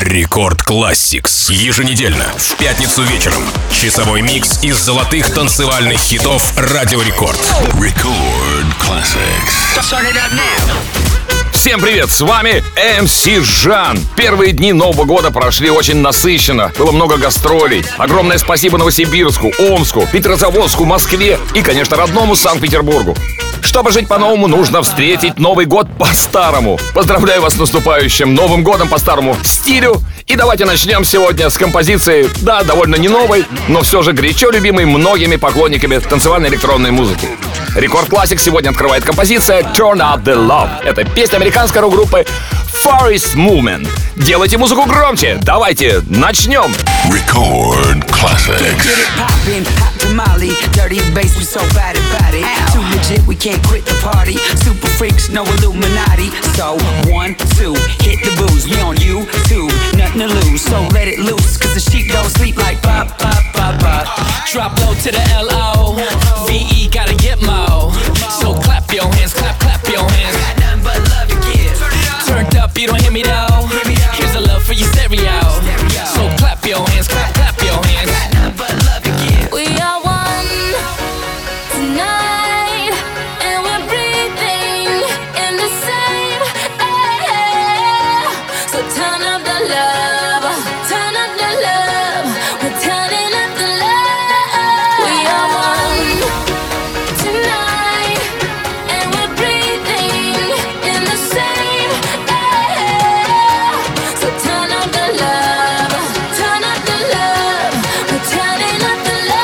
Рекорд Classics. Еженедельно, в пятницу вечером. Часовой микс из золотых танцевальных хитов Радио Рекорд. Record Classics. Всем привет, с вами MC Жан. Первые дни Нового года прошли очень насыщенно. Было много гастролей. Огромное спасибо Новосибирску, Омску, Петрозаводску, Москве и, конечно, родному Санкт-Петербургу. Чтобы жить по-новому, нужно встретить Новый год по-старому. Поздравляю вас с наступающим Новым годом по-старому в стилю. И давайте начнем сегодня с композиции, да, довольно не новой, но все же горячо любимой многими поклонниками танцевальной электронной музыки. Рекорд Classic сегодня открывает композиция Turn Up The Love. Это песня американской рок-группы Forest Movement. Делайте музыку громче. Давайте начнем. Record Classics. Molly, dirty bass, we so bad about it. Too legit, we can't quit the party. Super freaks, no Illuminati. So 1, 2, hit the booze. We on YouTube, nothing to lose. So let it loose, cause the sheep don't sleep like pop, pop, pop, pop. Drop low to the L-O-V-E, gotta get mo. So clap your hands, clap, clap your hands. Got nothing but love to give. Turned up, you don't hear me though. Here's a love for your stereo. So clap your hands, clap, clap your hands. Got nothing but love to give. We are one tonight, and we're breathing in the same air. So turn up the love, turn up the love. We're turning up the love. We are one tonight, and we're breathing in the same air. So turn up the love, turn up the love. We're turning up the love.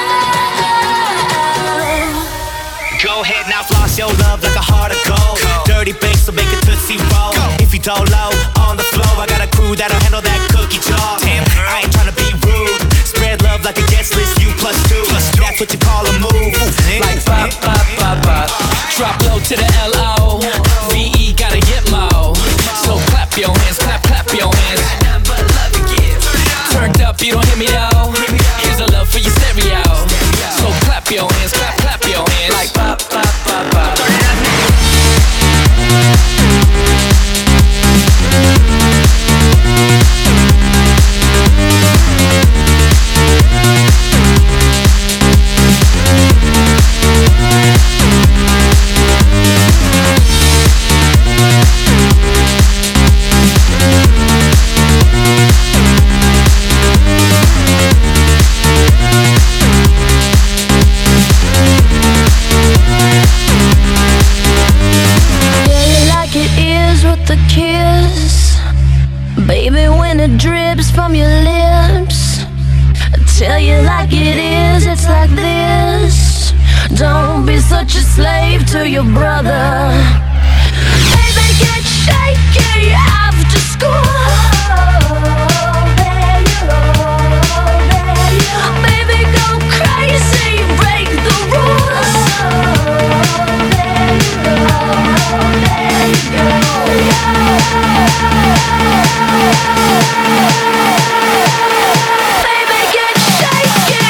Go ahead now, floss your love like a heart of gold. Dirty bass, so make a tootsie roll. If you don't low on the floor, I got a crew that'll handle that cookie jar. Damn, I ain't tryna be rude. Spread love like a guest list, you plus two. That's what you call a move. Like pop, pop, pop, pop. Drop low to the L-O-V-E, gotta get mo. So clap your hands, clap, clap your hands. Turned up, you don't hear me though. Here's a love for your stereo. So clap your hands, clap, clap your hands. Like pop, pop, pop, pop. The kiss, baby, when it drips from your lips, I tell you like it is, it's like this. Don't be such a slave to your brother. Baby, get shaky after school. Baby, go crazy, break the rules. There you go. Baby, get shaky.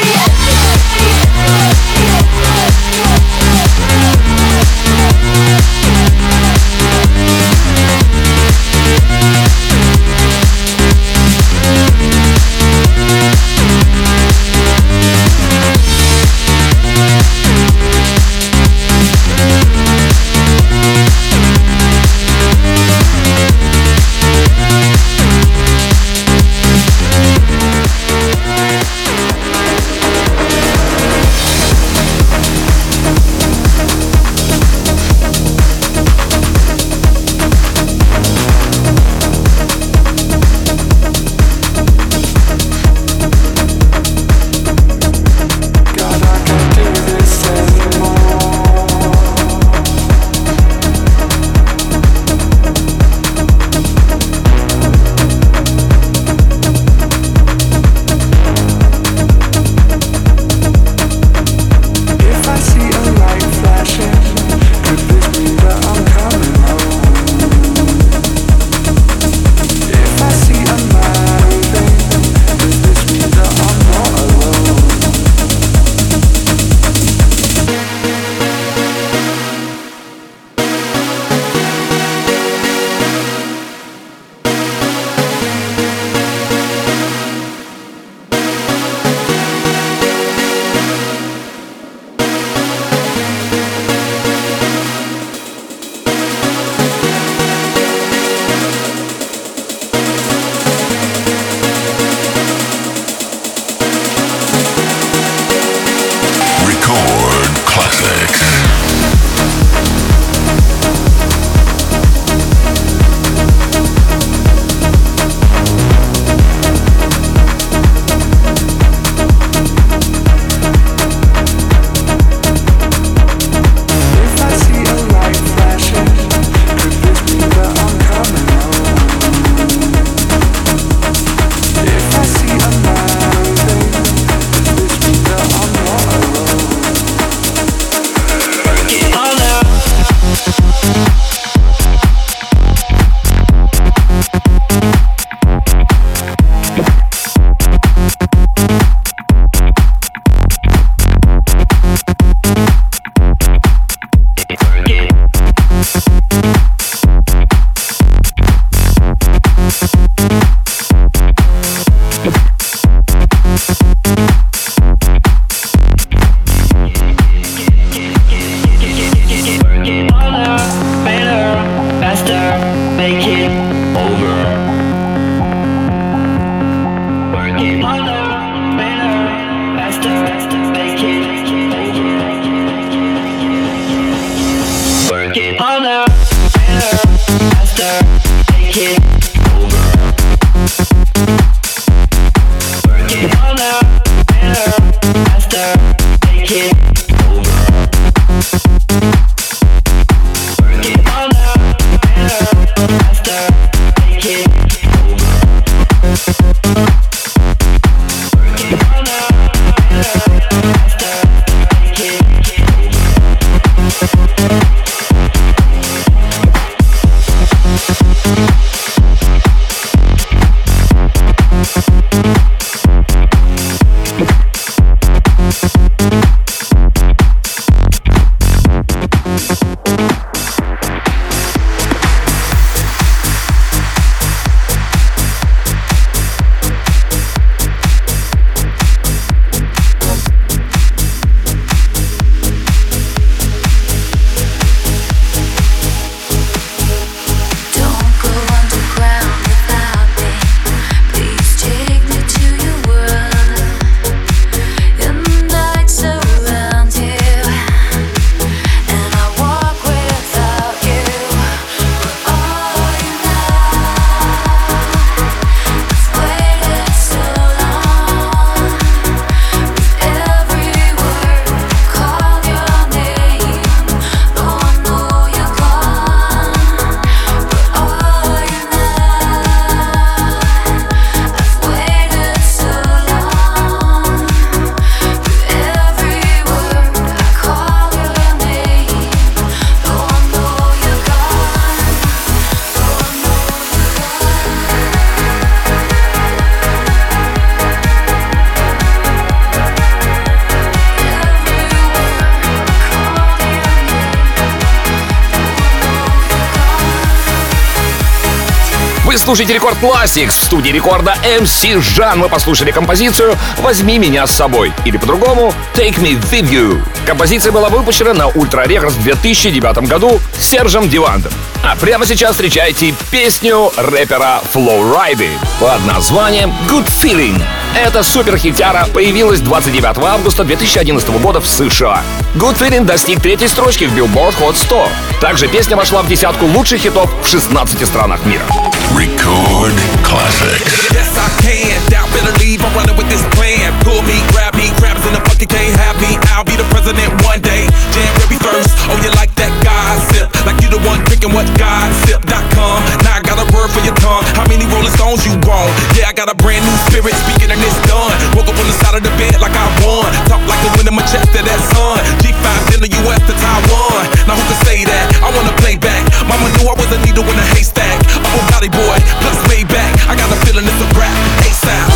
Вы слушаете Рекорд Classics. В студии рекорда MC Жан. Мы послушали композицию «Возьми меня с собой». Или по-другому «Take me with you». Композиция была выпущена на Ultra Records в 2009 году Сержем Дивандом. А прямо сейчас встречайте песню рэпера Флоу Райды под названием «Good Feeling». Эта суперхитяра появилась 29 августа 2011 года в США. Good Feeling достиг 3-й строчки в Billboard Hot 100. Также песня вошла в десятку лучших хитов в 16 странах мира. Record Classics. Yes, I can. Doubt, better leave. I'm running with this plan. Pull me, grab me. Crabs in the bucket can't have me. I'll be the president one day. January 1st. Oh, you like that gossip? Like you the one drinking what gossip.com. Now I got a word for your tongue. How many Rolling Stones you want? Yeah, I got a brand new spirit. Speaking and it's done. Woke up on the side of the bed like I won. Talk like the wind in my chest to that sun. G5 in the US to Taiwan. Now who can say that? I wanna play back. Mama knew I was a needle in a haystack. A Bugatti boy, plus way back. I got a feeling it's a rap. ASAP.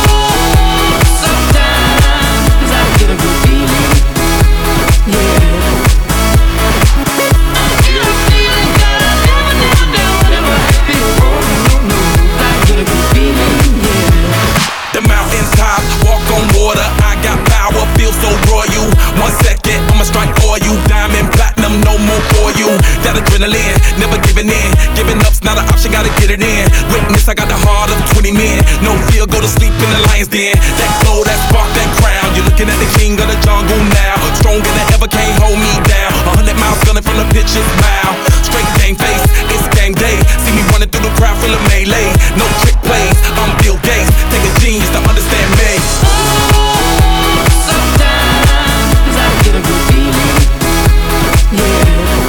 Sometimes I get a good feeling. Yeah. The mountains top, walk on water. I got power, feel so royal. 1 second, I'ma strike for you. Diamond, platinum, no more for you. That adrenaline, never giving in. Giving up's not an option, gotta get it in. Witness, I got the heart of 20 men. No fear, go to sleep in the lion's den. That glow, that spark, that crown. You're looking at the king of the jungle now. Stronger than ever, can't hold me down. 100 miles gunning from the pitcher's mouth. Straight game face, it's game day. See me running through the crowd full of melee. No trick plays, I'm Bill Gates. Take a genius to understand me. Sometimes I get a good feeling. Yeah.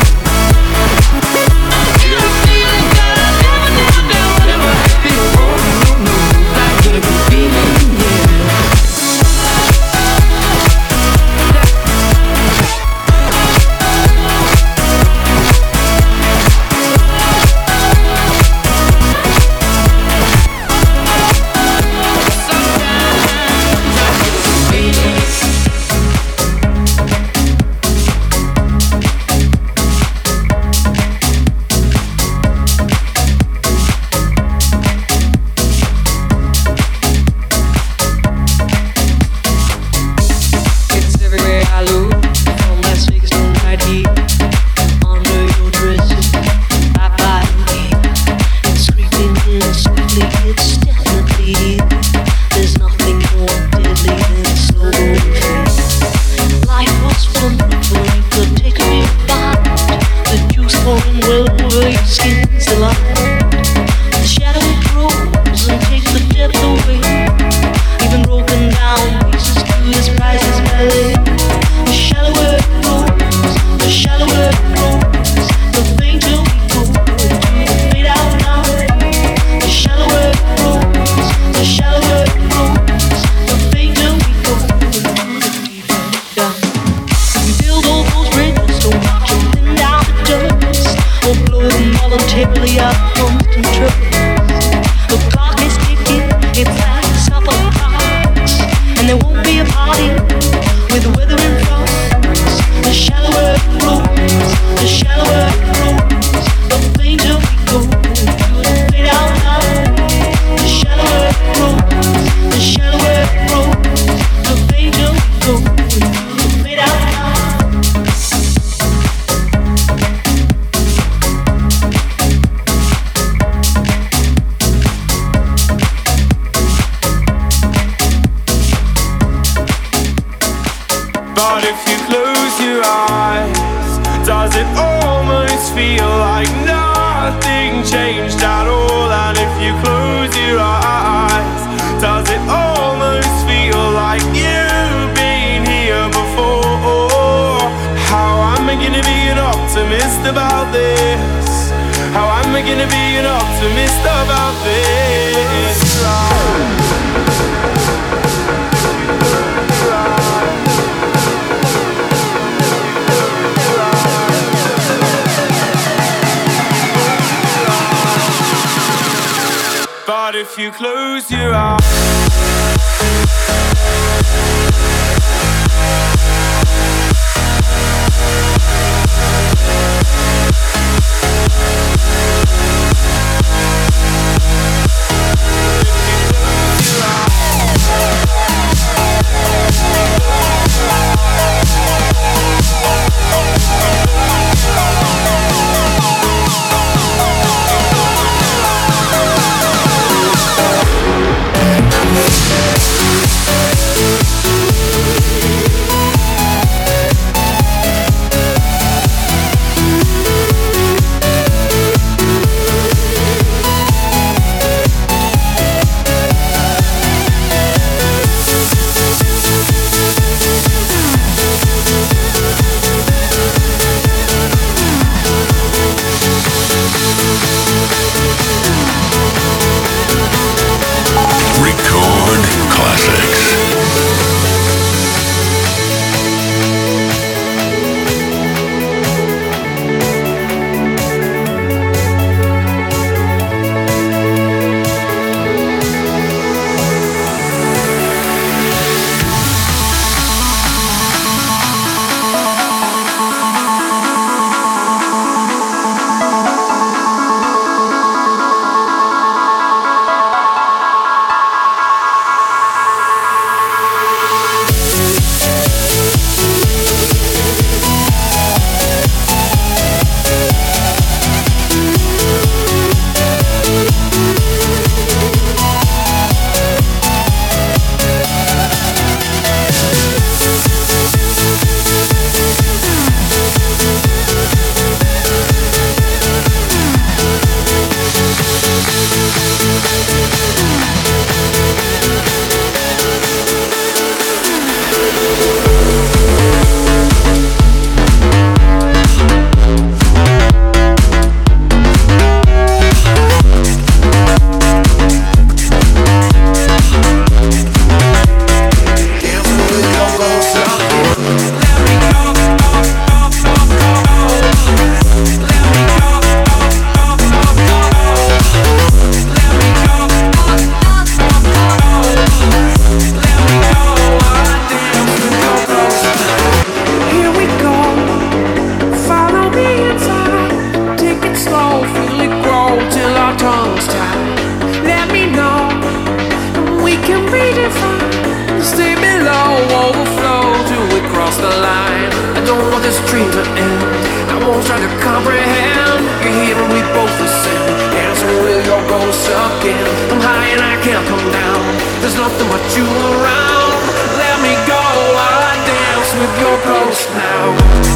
But if you close your eyes, can redefine. Stay below, overflow till we cross the line. I don't want this dream to end. I won't try to comprehend. You're here and we both ascend. Dancing with your ghost again. I'm high and I can't come down. There's nothing but you around. Let me go while I dance with your ghost now.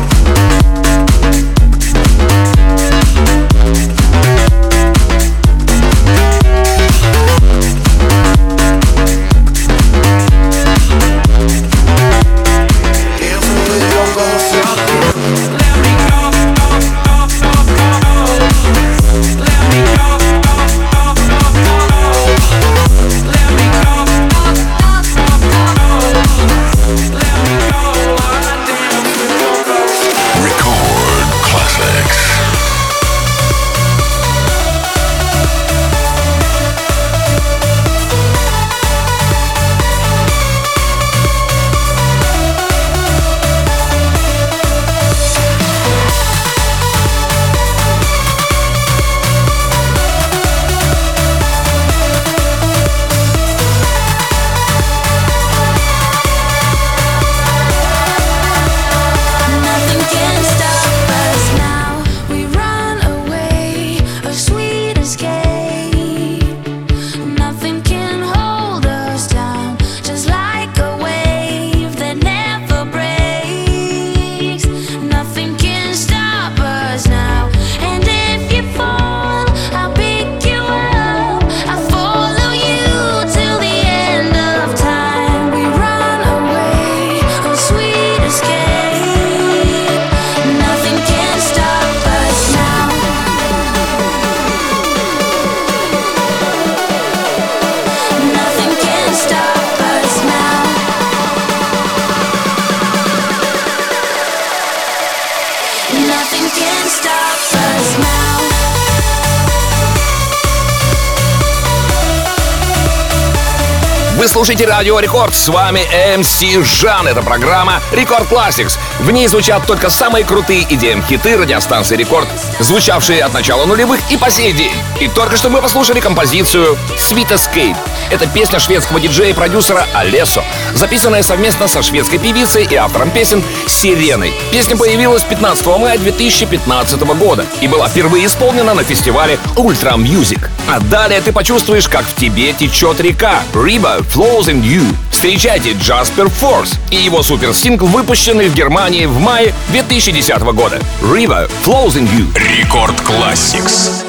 Вы слушаете Радио Рекорд, с вами MC Жан. Это программа Рекорд Classics. В ней звучат только самые крутые EDM-хиты радиостанции Рекорд, звучавшие от начала нулевых и по сей день. И только что мы послушали композицию Sweet Escape. Это песня шведского диджея и продюсера Алессо, записанная совместно со шведской певицей и автором песен Сиреной. Песня появилась 15 мая 2015 года и была впервые исполнена на фестивале Ultra Music. А далее ты почувствуешь, как в тебе течет река. River Flows in You. Встречайте Джаспер Форс и его суперсингл, выпущенный в Германии в мае 2010 года. River Flows in You. Рекорд Classics.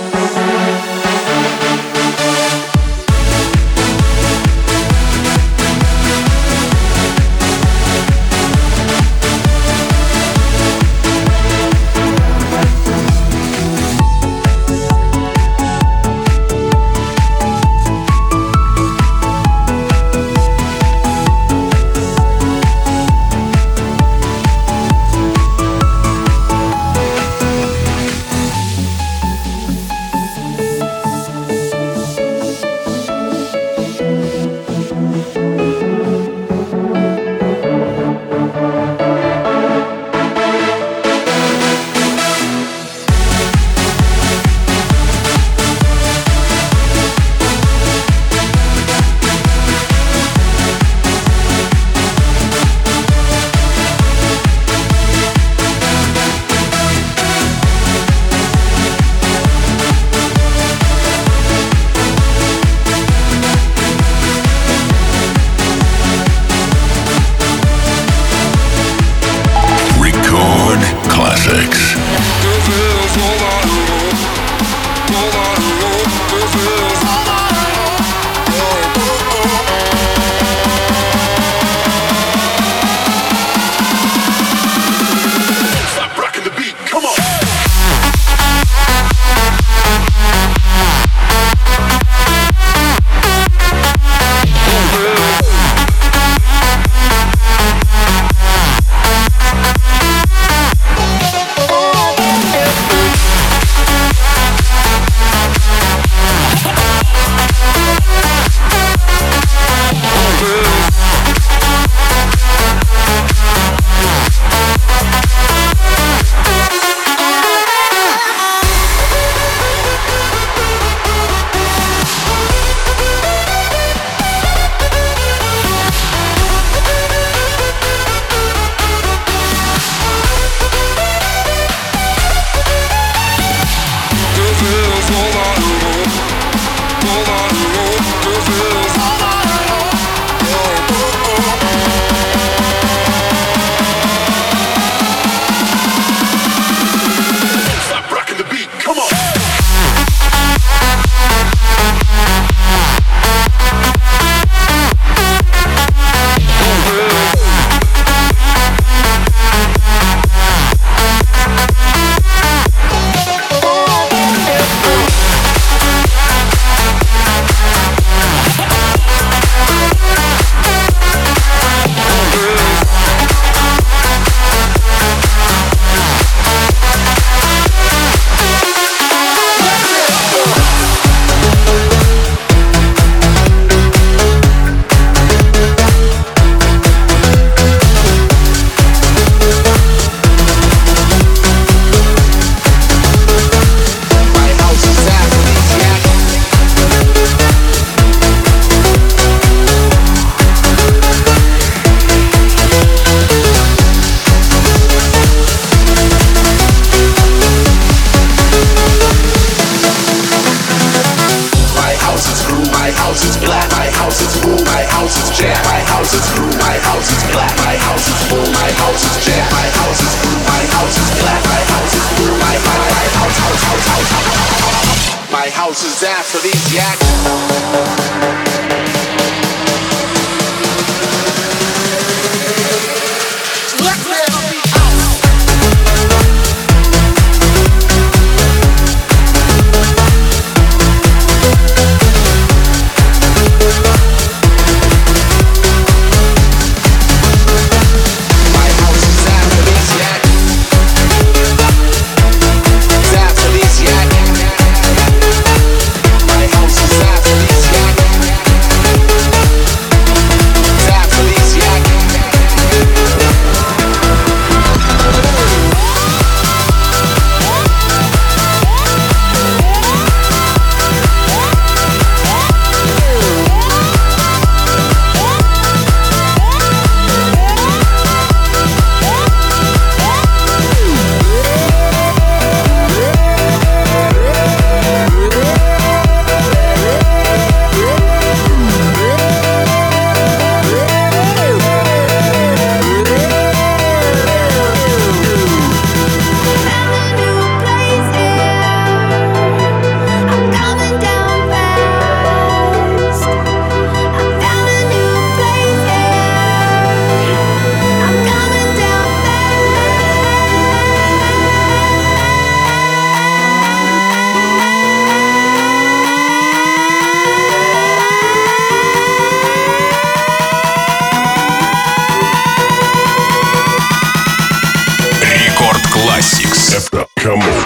Come on.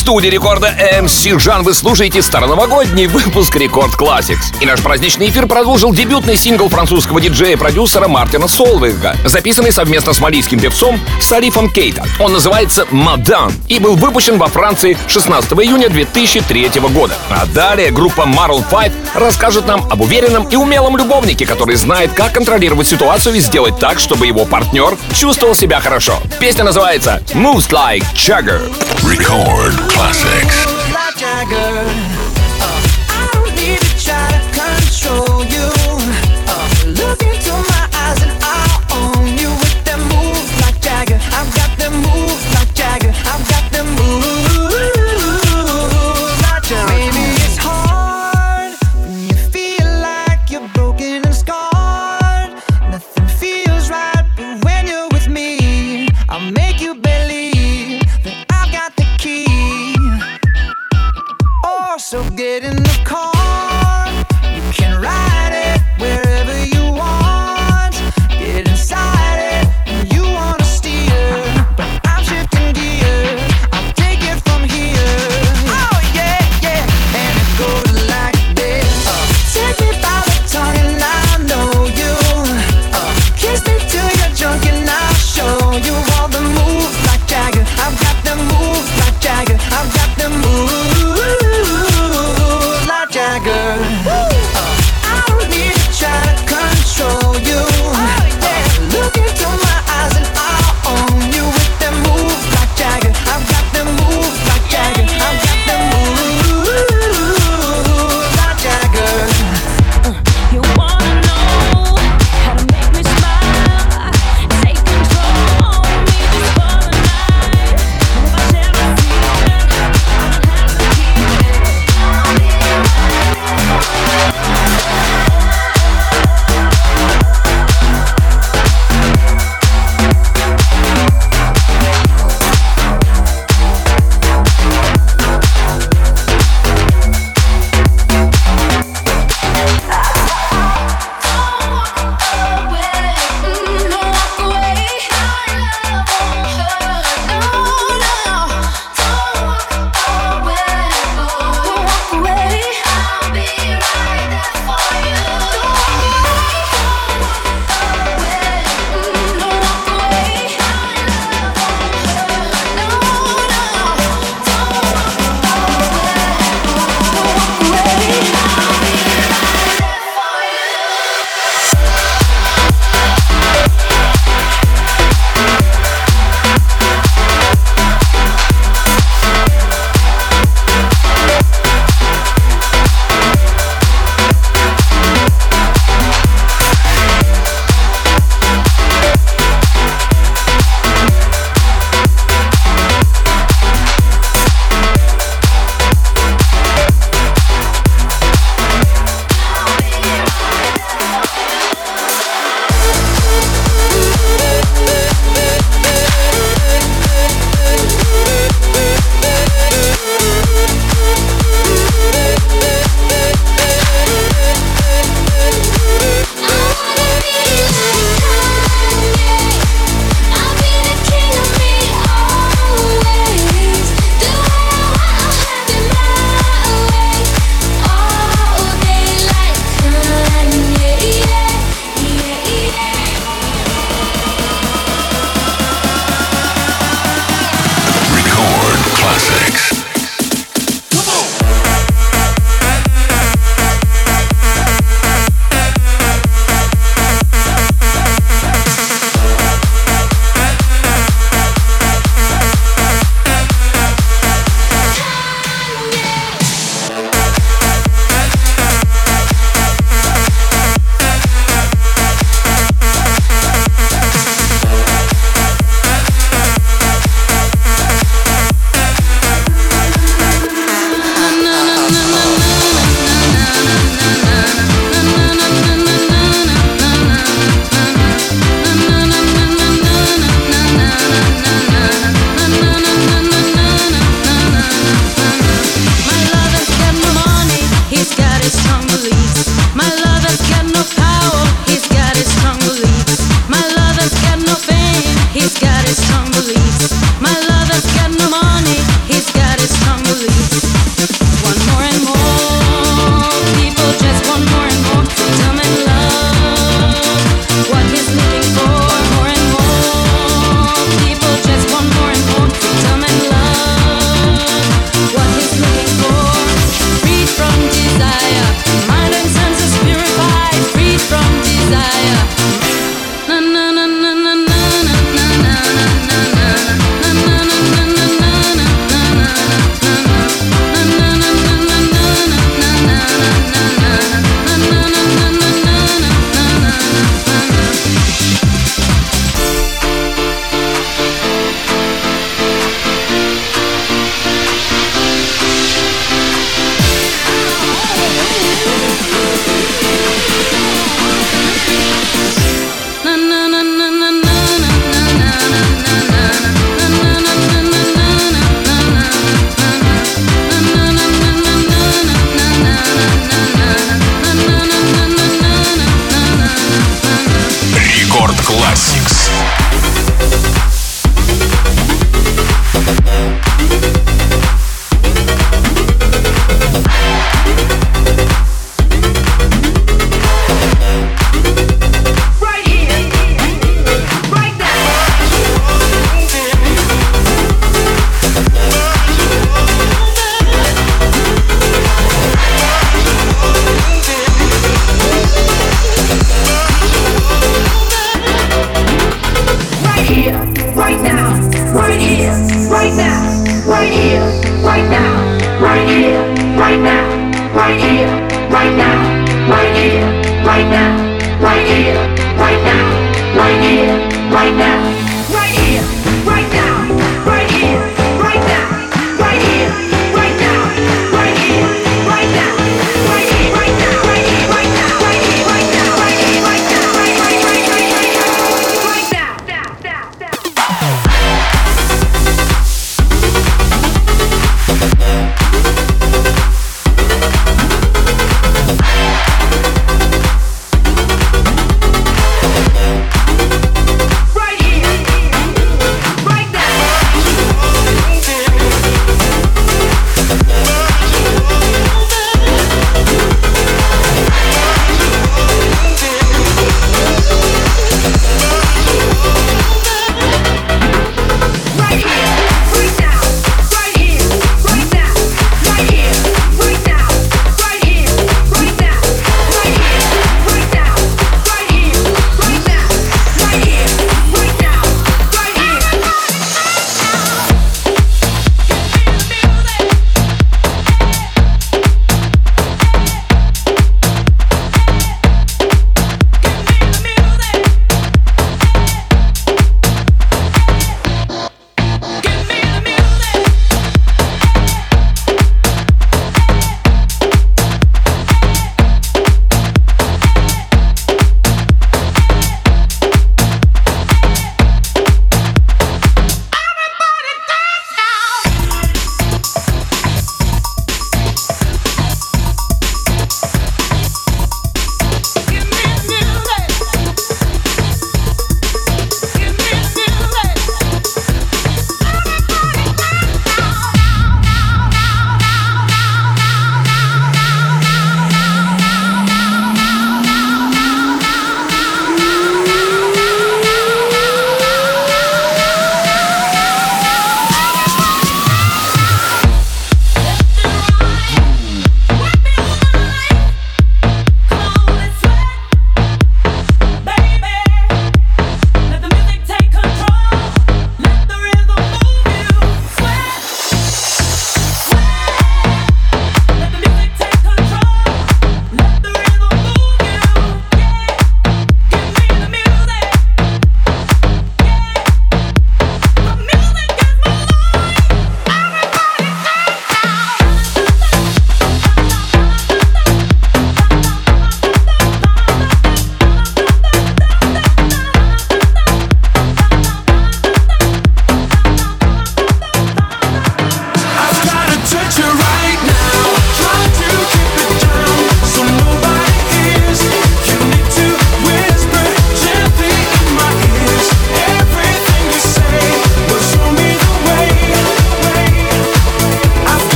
студии рекорда MC Жан вы слушаете староновогодний выпуск Рекорд Classics. И наш праздничный эфир продолжил дебютный сингл французского диджея и продюсера Мартина Солвейга, записанный совместно с малийским певцом Салифом Кейта. Он называется «Мадан» и был выпущен во Франции 16 июня 2003 года. А далее группа Maroon 5 расскажет нам об уверенном и умелом любовнике, который знает, как контролировать ситуацию и сделать так, чтобы его партнер чувствовал себя хорошо. Песня называется «Moves Like Jagger». Record Classics. So get in the car, you can ride it wherever you want. Get inside it, and you wanna steer, but I'm shifting gears, I'll take it from here. Oh yeah, yeah, and it goes like this. Take me by the tongue and I know you. Kiss me till you're drunk and I'll show you all the moves like Jagger. I've got the moves like Jagger. I've got the moves. Right here.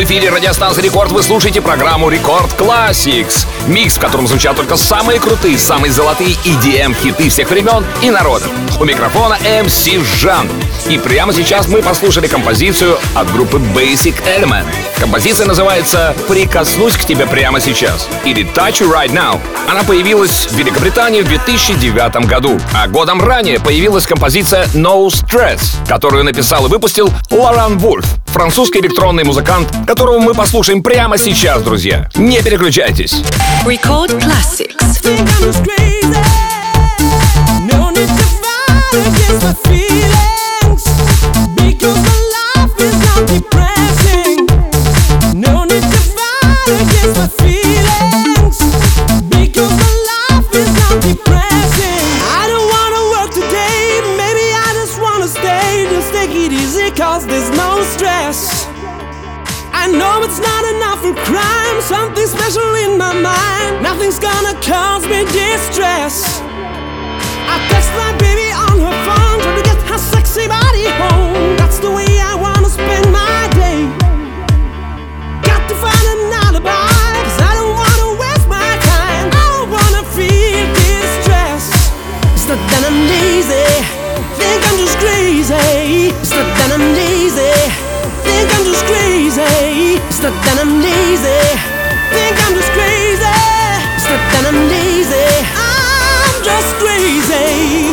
эфире радиостанции Рекорд вы слушаете программу Рекорд Classics. Микс, в котором звучат только самые крутые, самые золотые EDM-хиты всех времен и народов. У микрофона MC Жан. И прямо сейчас мы послушали композицию от группы Basic Element. Композиция называется «Прикоснусь к тебе прямо сейчас» или «Touch You Right Now». Она появилась в Великобритании в 2009 году, а годом ранее появилась композиция «No Stress», которую написал и выпустил Лоран Вульф, французский электронный музыкант, которого мы послушаем прямо сейчас, друзья. Не переключайтесь. Record Classics. I know it's not enough for crime. Something special in my mind. Nothing's gonna cause me distress. I text my baby on her phone, trying to get her sexy body home. That's the way I wanna spend my day. Got to find an alibi, 'cause I don't wanna waste my time. I don't wanna feel distress. It's not that I'm lazy, think I'm just crazy. It's not that I'm lazy, think I'm just crazy. It's not that I'm lazy, think I'm just crazy. It's not that I'm lazy, I'm just crazy.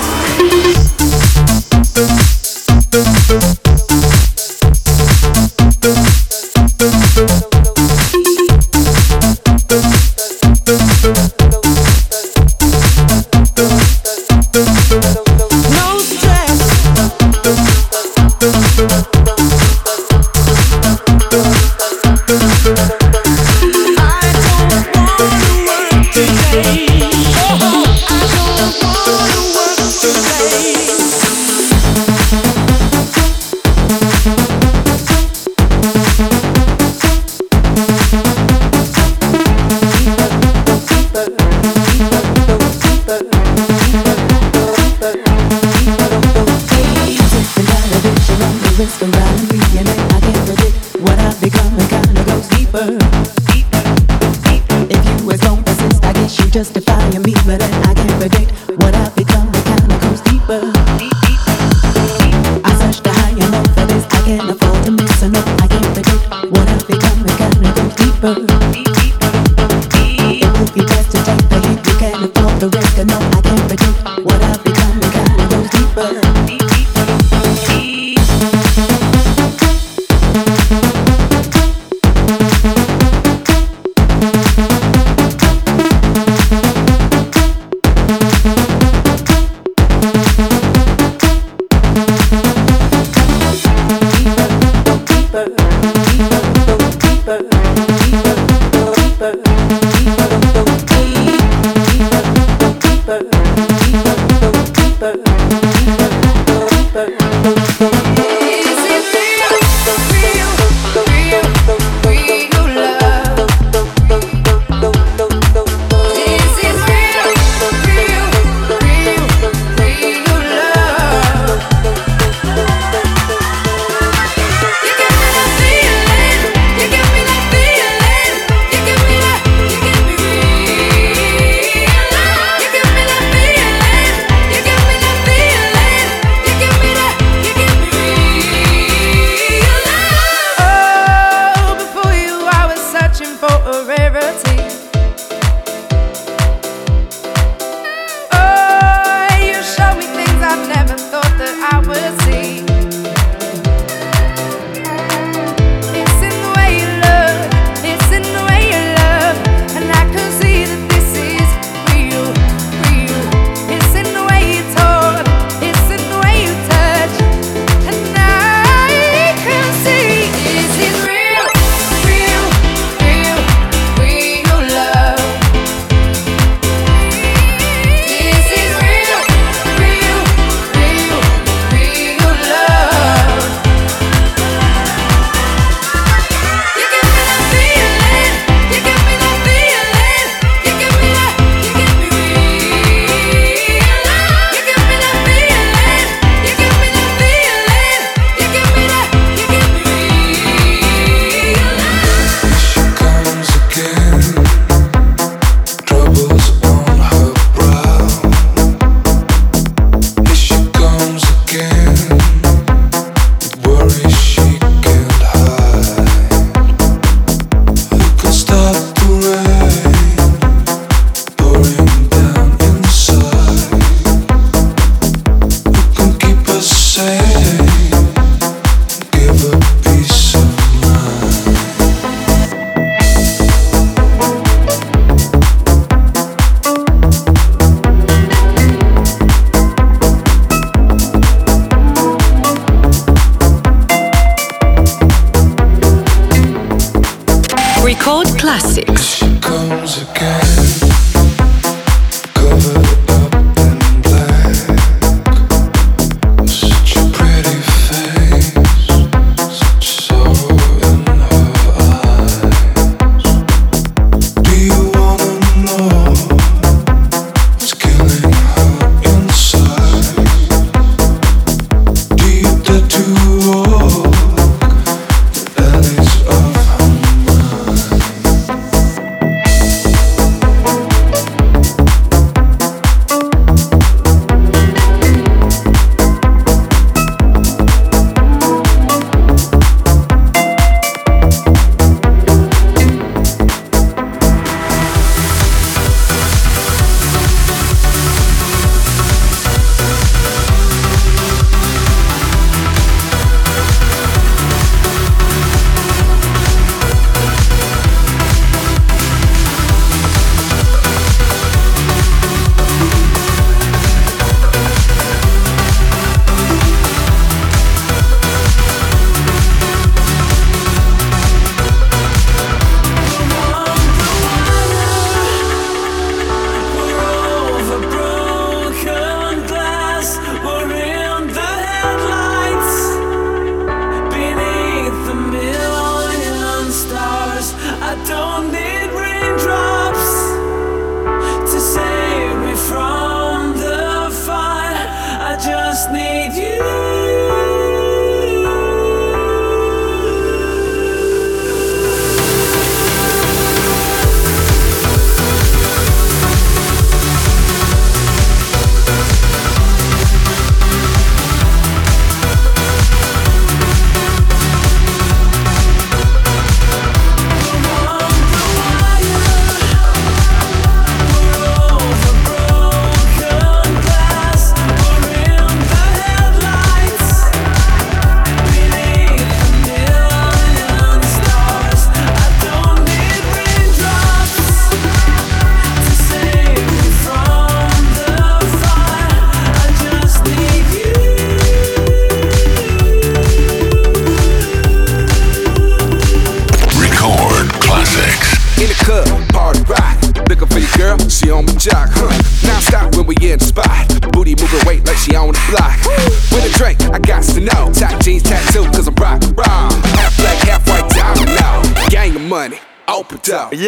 Yo,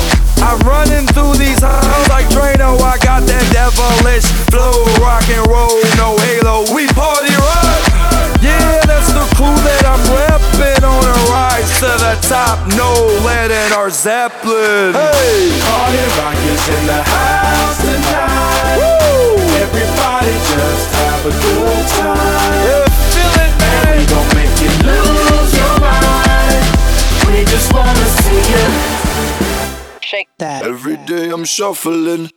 I'm running through these halls like Drano. I got that devilish flow, rock and roll, no halo. We party rock. Yeah, that's the crew that I'm repping on a rise to the top. No lead in our Zeppelin. Hey, party rock is in the house tonight. Woo! Everybody just have a good time. Yeah, feel it, man. And we gon' make you lose your mind. We just wanna see you shake that. Every day I'm shuffling.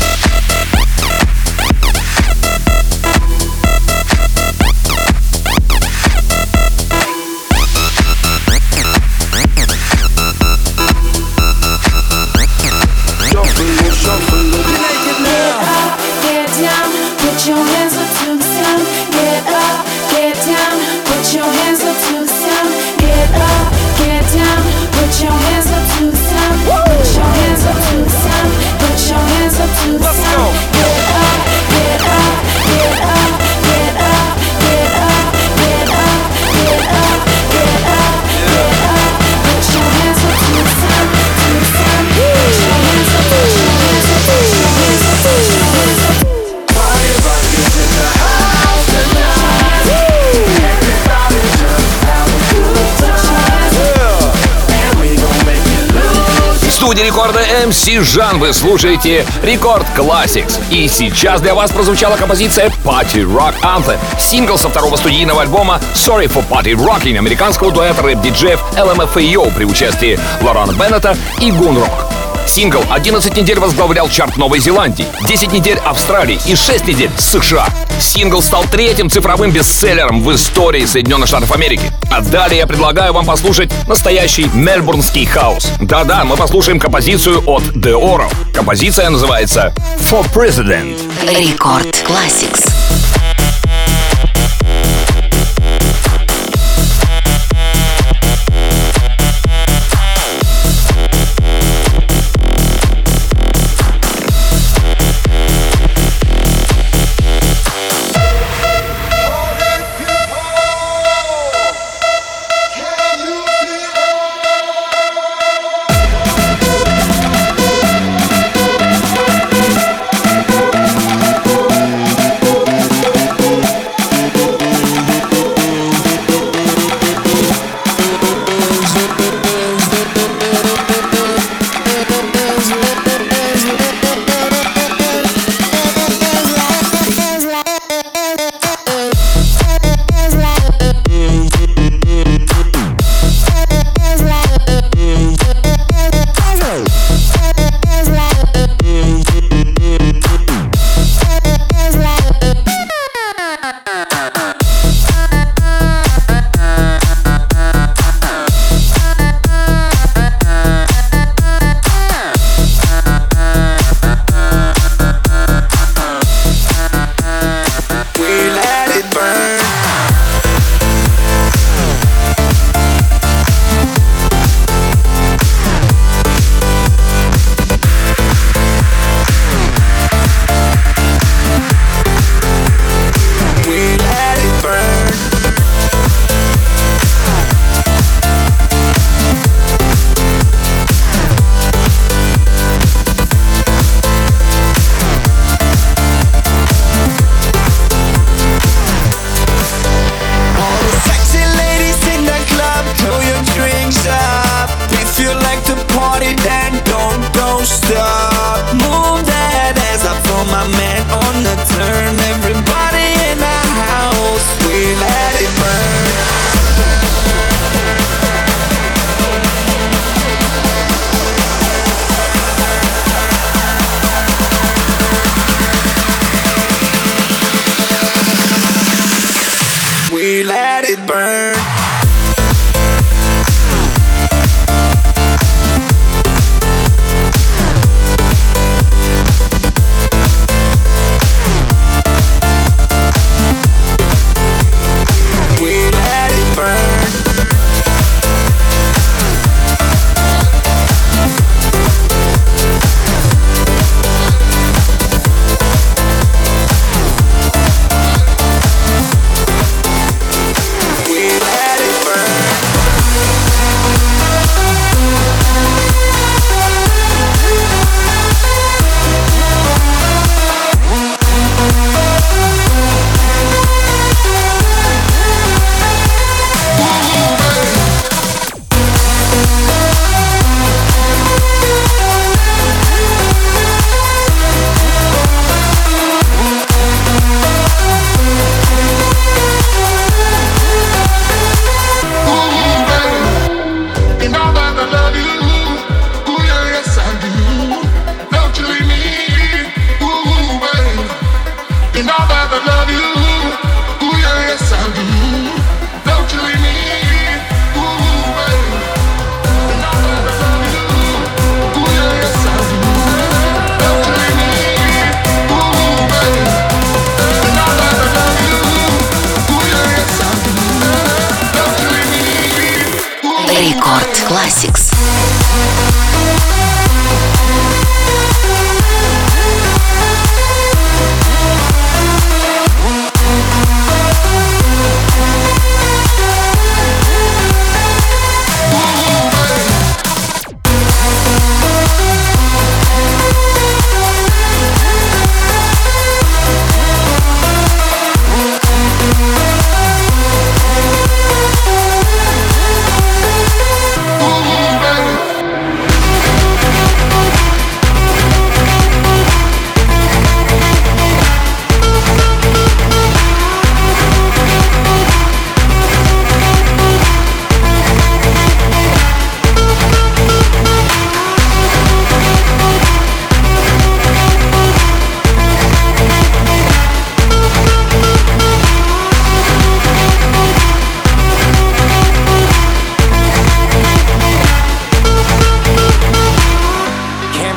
Shuffling. Get up, get down, put your hands up to the sound. Get up, get down, put your hands up to the sound. Get up, get down, put your hands up to the sound. Put your hands up to the sound. Put your hands up to the sound. Get up, get up, get up, get up, get up, get up, get up, get up, get up. Put your hands up to the sound, to the sound. Put your hands up, put your hands up, put your hands up, put your hands up. Party rock is in the house tonight. Everybody just have a good time. And we gon' make you lose. В студии рекорда MC Жан вы слушаете Рекорд Classics. И сейчас для вас прозвучала композиция Party Rock Anthem, сингл со второго студийного альбома Sorry for Party Rocking американского дуэта рэп-диджеев LMFAO при участии Лорана Беннета и Гунрок. Сингл 11 недель возглавлял чарт Новой Зеландии, 10 недель Австралии и 6 недель США. Сингл стал третьим цифровым бестселлером в истории Соединенных Штатов Америки. А далее я предлагаю вам послушать настоящий мельбурнский хаус. Да-да, мы послушаем композицию от The Oro. Композиция называется For President. Рекорд Classics.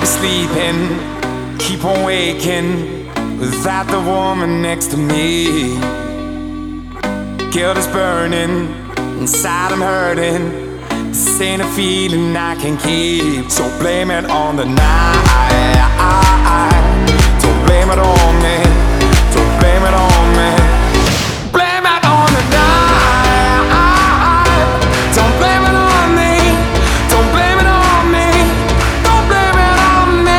be sleeping, keep on waking without the woman next to me. Guilt is burning, inside I'm hurting. This ain't a feeling I can keep. So blame it on the night. Don't blame it on me. Don't blame it on me. Blame it on the night. Don't blame it on me. Don't blame it on me. Don't blame it on me.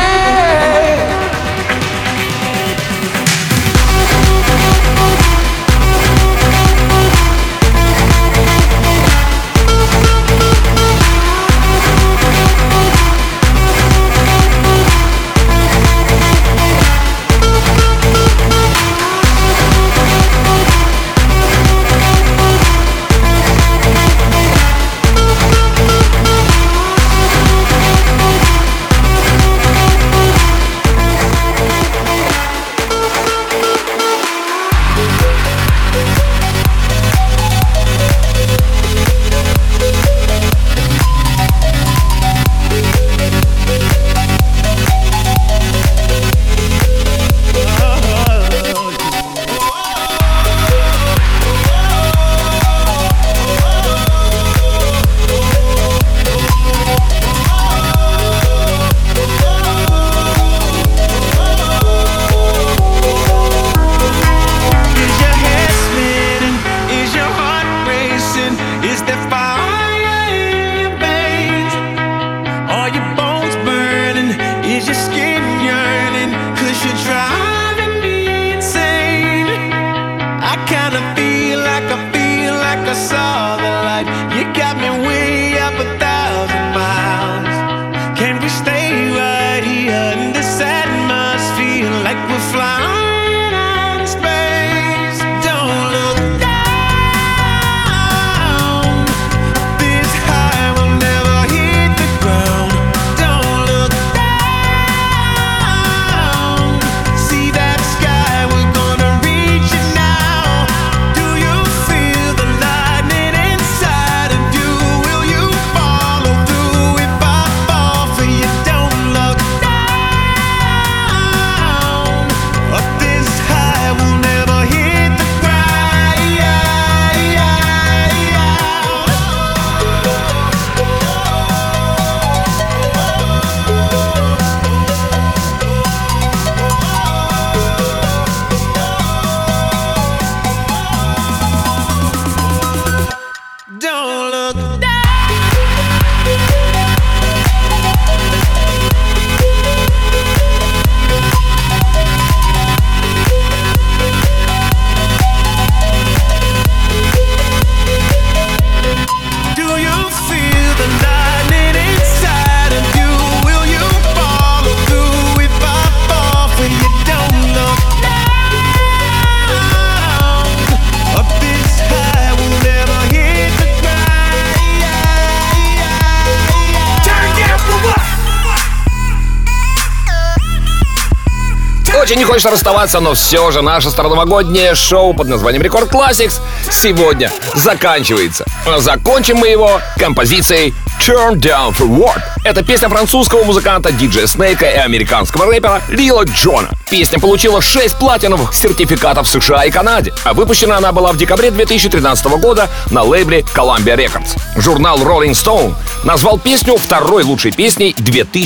Очень не хочется расставаться, но все же наше староновогоднее шоу под названием Рекорд Classics сегодня заканчивается. Закончим мы его композицией Turn Down for What. Это песня французского музыканта диджея Снейка и американского рэпера Лила Джона. Песня получила 6 платиновых сертификатов в США и Канаде, а выпущена она была в декабре 2013 года на лейбле Columbia Records. Журнал Rolling Stone назвал песню второй лучшей песней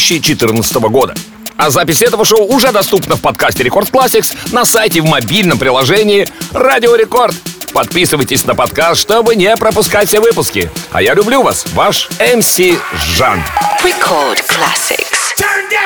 2014 года. А запись этого шоу уже доступна в подкасте Рекорд Classics на сайте в мобильном приложении Радио Рекорд. Подписывайтесь на подкаст, чтобы не пропускать все выпуски. А я люблю вас, ваш МС Жан. Record Classics.